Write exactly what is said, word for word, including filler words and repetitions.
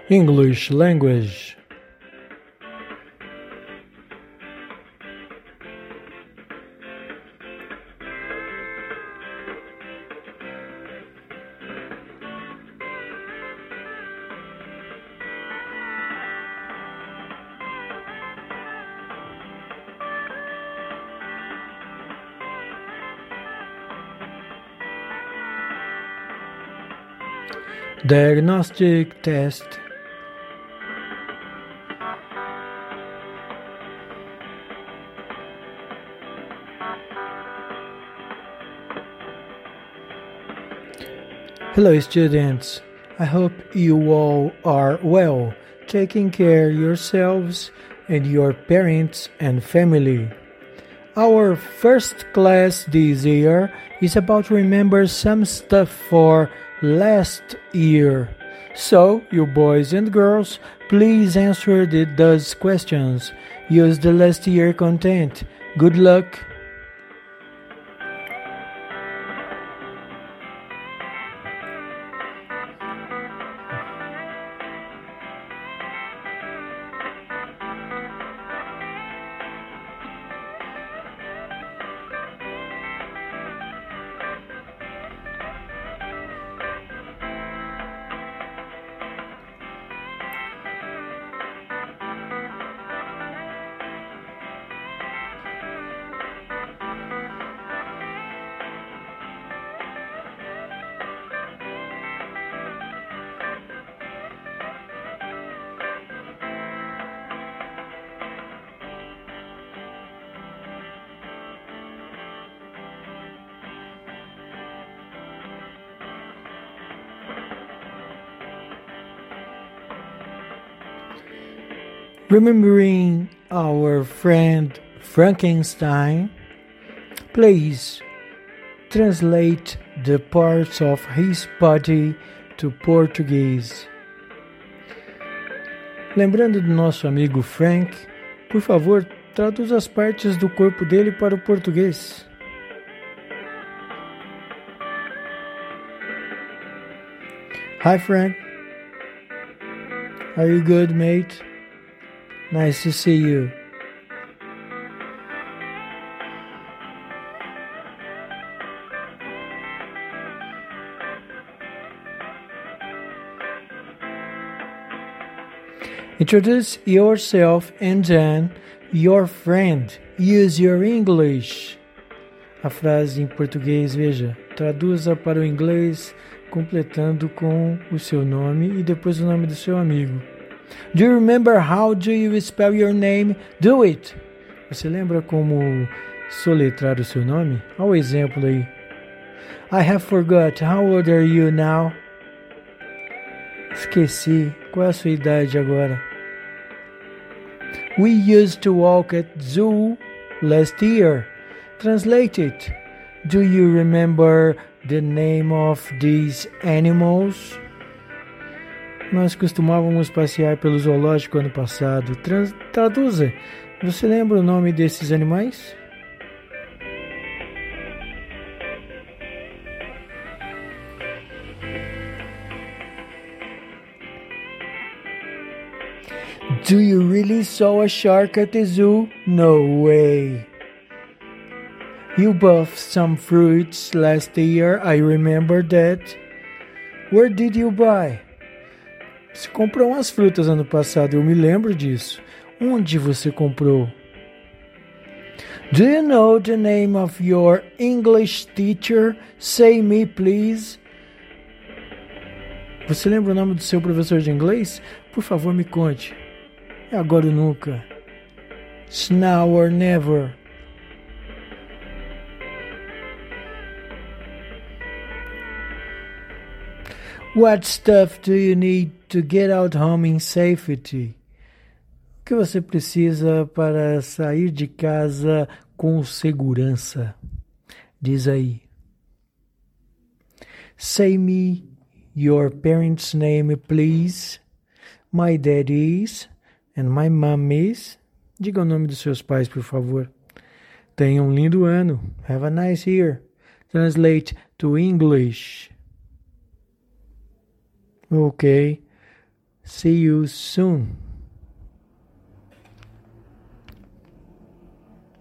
English language. Diagnostic test. Hello students, I hope you all are well, taking care of yourselves and your parents and family. Our first class this year is about to remember some stuff for last year. So, you boys and girls, please answer the, those questions. Use the last year content. Good luck! Remembering our friend Frankenstein, please translate the parts of his body to Portuguese. Lembrando do nosso amigo Frank, por favor, traduza as partes do corpo dele para o português. Hi Frank. Are you good, mate? Nice to see you. Introduce yourself and then your friend. Use your English. A frase em português, veja, traduza para o inglês completando com o seu nome e depois o nome do seu amigo. Do you remember how do you spell your name? Do it! Você lembra como soletrar o seu nome? Olha o exemplo aí. I have forgot. How old are you now? Esqueci. Qual é a sua idade agora? We used to walk at zoo last year. Translate it. Do you remember the name of these animals? Nós costumávamos passear pelo zoológico ano passado. Trans- traduza. Você lembra o nome desses animais? Do you really saw a shark at the zoo? No way. You bought some fruits last year. I remember that. Where did you buy? Você comprou umas frutas ano passado, eu me lembro disso. Onde você comprou? Do you know the name of your English teacher? Say me, please. Você lembra o nome do seu professor de inglês? Por favor, me conte. É agora ou nunca. It's now or never. What stuff do you need to get out home in safety? O que você precisa para sair de casa com segurança? Diz aí. Say me your parents' name, please. My dad is and my mom is. Diga o nome dos seus pais, por favor. Tenha um lindo ano. Have a nice year. Translate to English. Okay. See you soon.